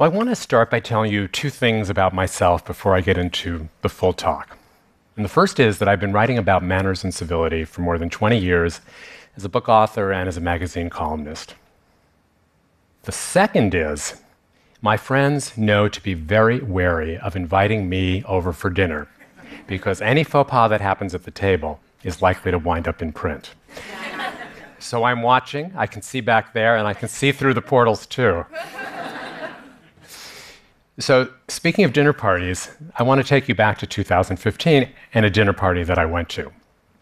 Well, I want to start by telling you two things about myself before I get into the full talk. And the first is that I've been writing about manners and civility for more than 20 years as a book author and as a magazine columnist. The second is my friends know to be very wary of inviting me over for dinner because any faux pas that happens at the table is likely to wind up in print. So I'm watching, I can see back there, and I can see through the portals too. So, speaking of dinner parties, I want to take you back to 2015 and a dinner party that I went to.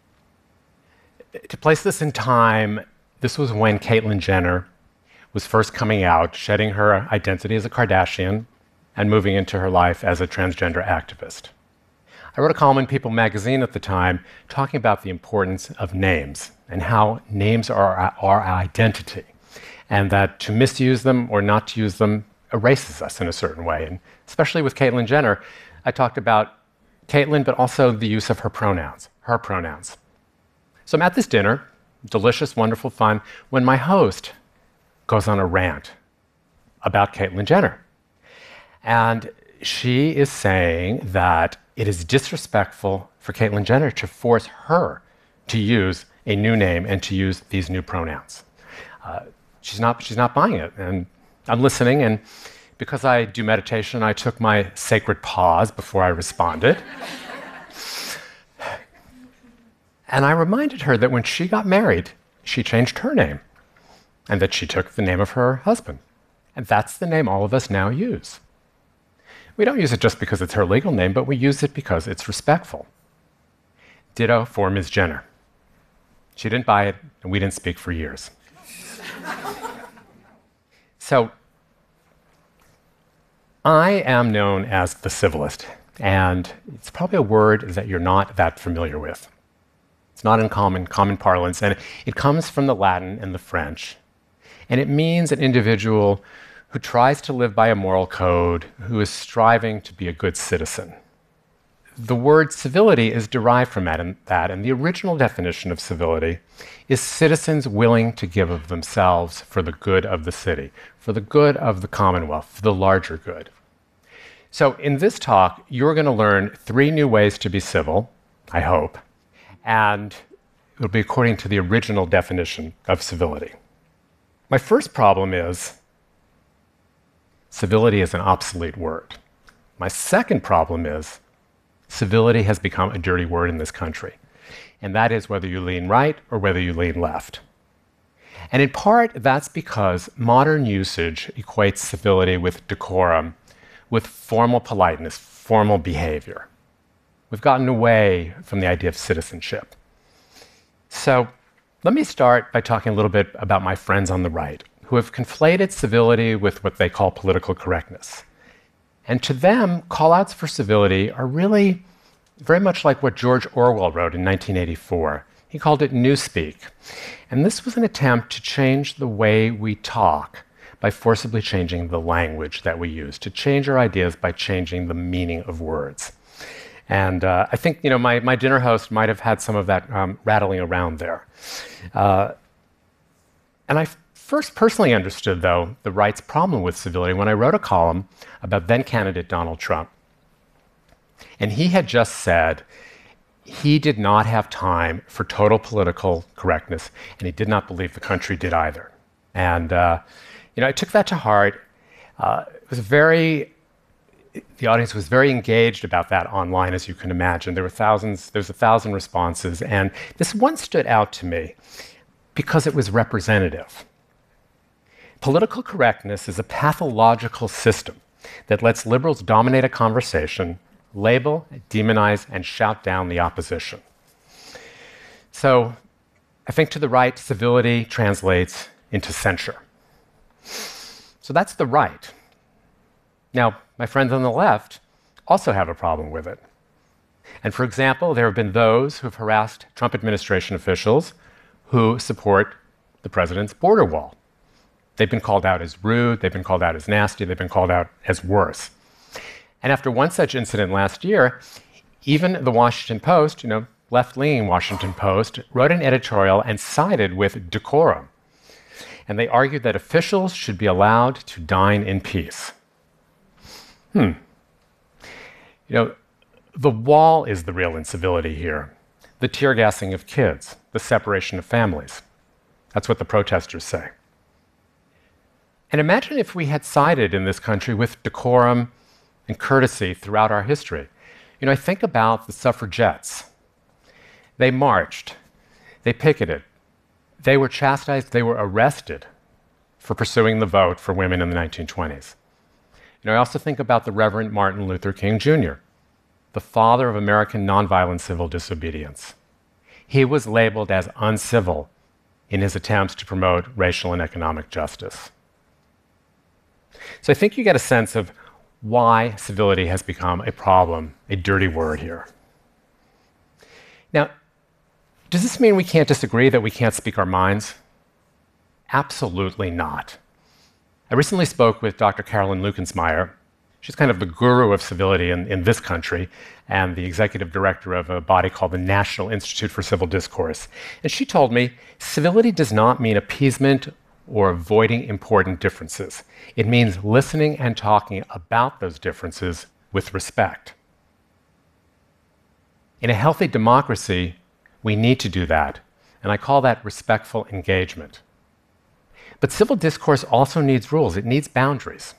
To place this in time, this was when Caitlyn Jenner was first coming out, shedding her identity as a Kardashian and moving into her life as a transgender activist. I wrote a column in People magazine at the time talking about the importance of names and how names are our identity, and that to misuse them or not to use them erases us in a certain way. And especially with Caitlyn Jenner, I talked about Caitlyn, but also the use of her pronouns. So I'm at this dinner, delicious, wonderful fun, when my host goes on a rant about Caitlyn Jenner. And she is saying that it is disrespectful for Caitlyn Jenner to force her to use a new name and to use these new pronouns. She's not buying it. And I'm listening, and because I do meditation, I took my sacred pause before I responded. And I reminded her that when she got married, she changed her name, and that she took the name of her husband. And that's the name all of us now use. We don't use it just because it's her legal name, but we use it because it's respectful. Ditto for Ms. Jenner. She didn't buy it, and we didn't speak for years. So, I am known as the civilist, and it's probably a word that you're not that familiar with. It's not in common parlance, and it comes from the Latin and the French. And it means an individual who tries to live by a moral code, who is striving to be a good citizen. The word civility is derived from that, and the original definition of civility is citizens willing to give of themselves for the good of the city, for the good of the Commonwealth, for the larger good. So in this talk, you're going to learn 3 new ways to be civil, I hope, and it'll be according to the original definition of civility. My first problem is civility is an obsolete word. My second problem is civility has become a dirty word in this country, and that is whether you lean right or whether you lean left. And in part, that's because modern usage equates civility with decorum, with formal politeness, formal behavior. We've gotten away from the idea of citizenship. So let me start by talking a little bit about my friends on the right, who have conflated civility with what they call political correctness. And to them, call-outs for civility are really very much like what George Orwell wrote in 1984. He called it newspeak. And this was an attempt to change the way we talk by forcibly changing the language that we use, to change our ideas by changing the meaning of words. And I think my dinner host might have had some of that rattling around there. And I first personally understood, though, the right's problem with civility when I wrote a column about then-candidate Donald Trump. And he had just said he did not have time for total political correctness, and he did not believe the country did either. And I took that to heart. The audience was very engaged about that online, as you can imagine. There was 1,000 responses, and this one stood out to me because it was representative. Political correctness is a pathological system that lets liberals dominate a conversation, label, demonize, and shout down the opposition. So I think to the right, civility translates into censure. So that's the right. Now, my friends on the left also have a problem with it. And for example, there have been those who have harassed Trump administration officials who support the president's border wall. They've been called out as rude, they've been called out as nasty, they've been called out as worse. And after one such incident last year, even the Washington Post, left-leaning Washington Post, wrote an editorial and sided with decorum. And they argued that officials should be allowed to dine in peace. You know, the wall is the real incivility here. The tear gassing of kids, the separation of families. That's what the protesters say. And imagine if we had sided in this country with decorum and courtesy throughout our history. You know, I think about the suffragettes. They marched, they picketed, they were chastised, they were arrested for pursuing the vote for women in the 1920s. You know, I also think about the Reverend Martin Luther King Jr., the father of American nonviolent civil disobedience. He was labeled as uncivil in his attempts to promote racial and economic justice. So I think you get a sense of why civility has become a problem, a dirty word here. Now, does this mean we can't disagree, that we can't speak our minds? Absolutely not. I recently spoke with Dr. Carolyn Lukensmeyer. She's kind of the guru of civility in this country and the executive director of a body called the National Institute for Civil Discourse. And she told me civility does not mean appeasement or avoiding important differences. It means listening and talking about those differences with respect. In a healthy democracy, we need to do that, and I call that respectful engagement. But civil discourse also needs rules. It needs boundaries.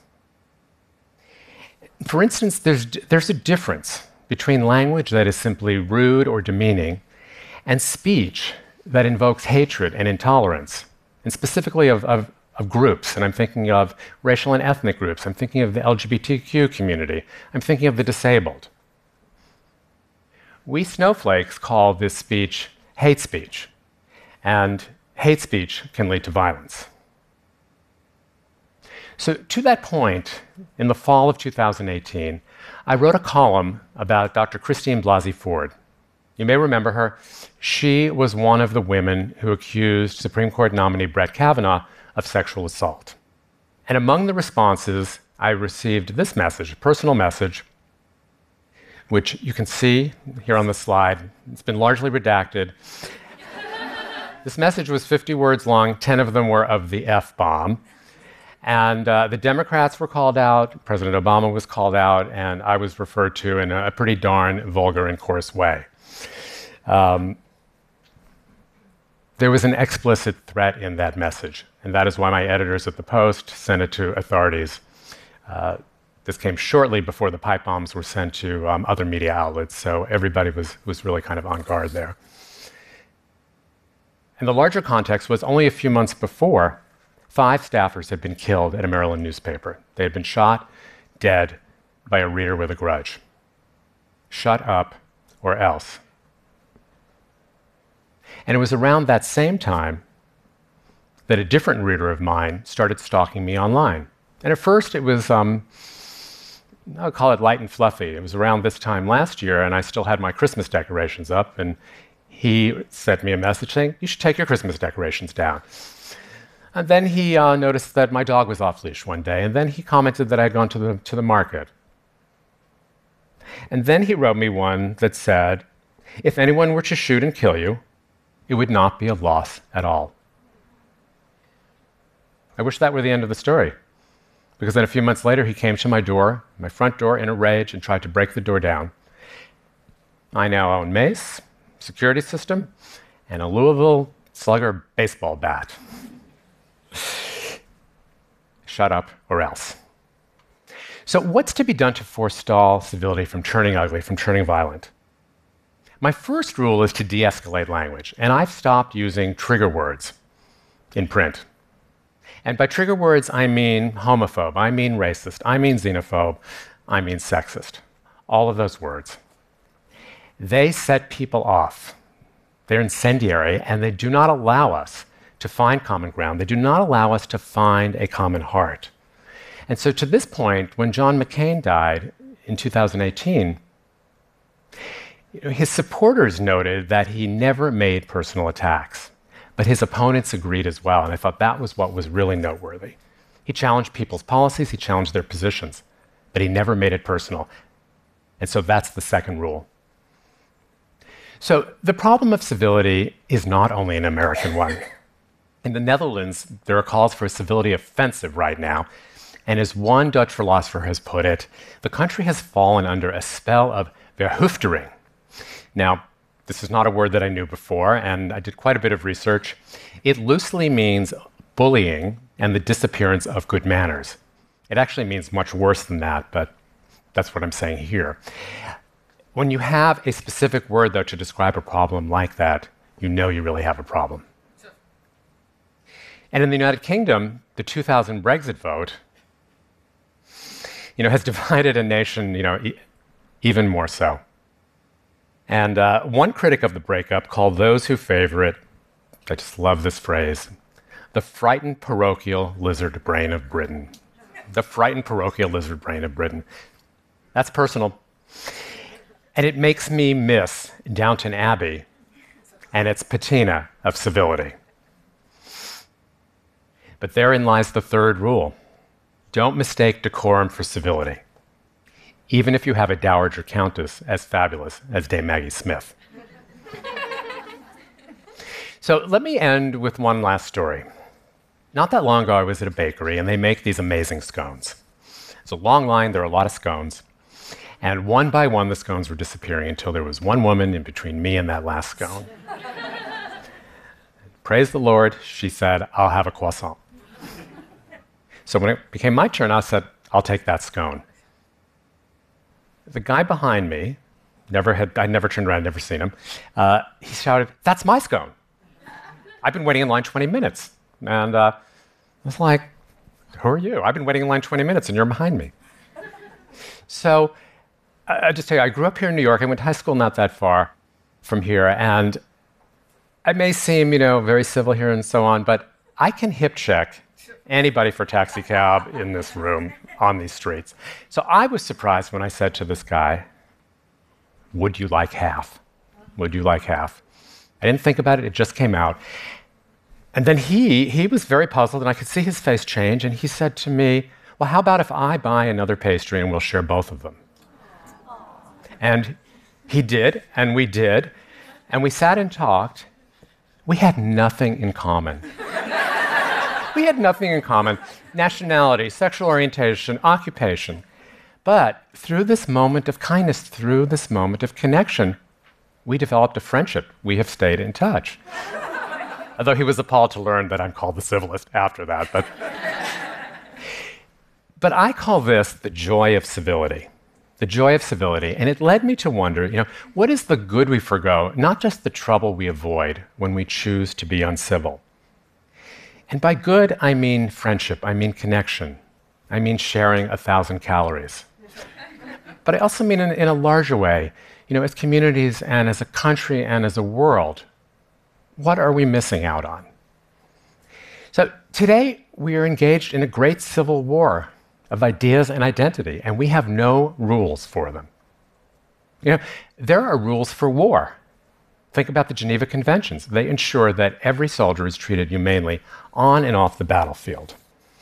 For instance, there's a difference between language that is simply rude or demeaning and speech that invokes hatred and intolerance, and specifically of groups. And I'm thinking of racial and ethnic groups. I'm thinking of the LGBTQ community. I'm thinking of the disabled. We snowflakes call this speech hate speech, and hate speech can lead to violence. So to that point, in the fall of 2018, I wrote a column about Dr. Christine Blasey Ford. You may remember her. She was one of the women who accused Supreme Court nominee Brett Kavanaugh of sexual assault. And among the responses, I received this message, a personal message, which you can see here on the slide. It's been largely redacted. This message was 50 words long, 10 of them were of the F-bomb. And the Democrats were called out, President Obama was called out, and I was referred to in a pretty darn vulgar and coarse way. There was an explicit threat in that message, and that is why my editors at the Post sent it to authorities. This came shortly before the pipe bombs were sent to other media outlets, so everybody was really kind of on guard there. And the larger context was only a few months before, 5 staffers had been killed at a Maryland newspaper. They had been shot dead by a reader with a grudge. Shut up or else. And it was around that same time that a different reader of mine started stalking me online. And at first it was, I'll call it light and fluffy. It was around this time last year, and I still had my Christmas decorations up, and he sent me a message saying, "You should take your Christmas decorations down." And then he noticed that my dog was off leash one day, and then he commented that I had gone to the market. And then he wrote me one that said, "If anyone were to shoot and kill you, it would not be a loss at all." I wish that were the end of the story, because then a few months later he came to my door, my front door, in a rage and tried to break the door down. I now own mace, security system, and a Louisville Slugger baseball bat. Shut up or else. So what's to be done to forestall civility from turning ugly, from turning violent? My first rule is to de-escalate language, and I've stopped using trigger words in print. And by trigger words, I mean homophobe, I mean racist, I mean xenophobe, I mean sexist. All of those words. They set people off. They're incendiary, and they do not allow us to find common ground. They do not allow us to find a common heart. And so to this point, when John McCain died in 2018, his supporters noted that he never made personal attacks, but his opponents agreed as well, and I thought that was what was really noteworthy. He challenged people's policies, he challenged their positions, but he never made it personal. And so that's the second rule. So the problem of civility is not only an American one. In the Netherlands, there are calls for a civility offensive right now, And as one Dutch philosopher has put it, the country has fallen under a spell of verhoeftering. Now, this is not a word that I knew before, and I did quite a bit of research. It loosely means bullying and the disappearance of good manners. It actually means much worse than that, but that's what I'm saying here. When you have a specific word, though, to describe a problem like that, you know you really have a problem. And in the United Kingdom, the 2000 Brexit vote, has divided a nation, even more so. And one critic of the breakup called those who favor it, I just love this phrase, the frightened parochial lizard brain of Britain. The frightened parochial lizard brain of Britain. That's personal. And it makes me miss Downton Abbey and its patina of civility. But therein lies the third rule. Don't mistake decorum for civility, even if you have a dowager countess as fabulous as Dame Maggie Smith. So let me end with one last story. Not that long ago, I was at a bakery, and they make these amazing scones. It's a long line, there are a lot of scones. And one by one, the scones were disappearing until there was one woman in between me and that last scone. Praise the Lord, she said, I'll have a croissant. So when it became my turn, I said, I'll take that scone. The guy behind me, I never turned around, never seen him, he shouted, that's my scone. I've been waiting in line 20 minutes. And I was like, who are you? I've been waiting in line 20 minutes and you're behind me. So I just tell you, I grew up here in New York. I went to high school not that far from here. And I may seem, very civil here and so on, but I can hip check anybody for taxi cab in this room on these streets. So I was surprised when I said to this guy, would you like half? Would you like half? I didn't think about it. It just came out. And then he was very puzzled, and I could see his face change, and he said to me, well, how about if I buy another pastry and we'll share both of them? And he did, and we did, and we sat and talked. We had nothing in common. We had nothing in common. Nationality, sexual orientation, occupation. But through this moment of kindness, through this moment of connection, we developed a friendship. We have stayed in touch. Although he was appalled to learn that I'm called the civilist after that. But I call this the joy of civility. The joy of civility. And it led me to wonder, what is the good we forgo, not just the trouble we avoid when we choose to be uncivil? And by good, I mean friendship, I mean connection, I mean sharing 1,000 calories. But I also mean in a larger way, as communities and as a country and as a world, what are we missing out on? So today, we are engaged in a great civil war of ideas and identity, and we have no rules for them. There are rules for war. Think about the Geneva Conventions. They ensure that every soldier is treated humanely on and off the battlefield.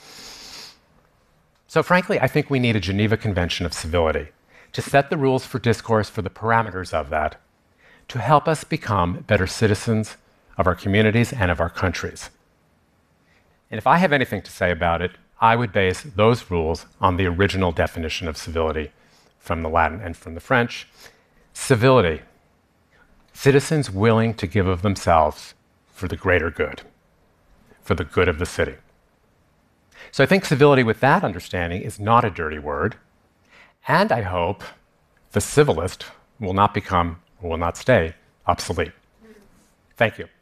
So frankly, I think we need a Geneva Convention of civility to set the rules for discourse, for the parameters of that, to help us become better citizens of our communities and of our countries. And if I have anything to say about it, I would base those rules on the original definition of civility from the Latin and from the French. Civility. Citizens willing to give of themselves for the greater good, for the good of the city. So I think civility with that understanding is not a dirty word, and I hope the civilist will not become, or will not stay, obsolete. Thank you.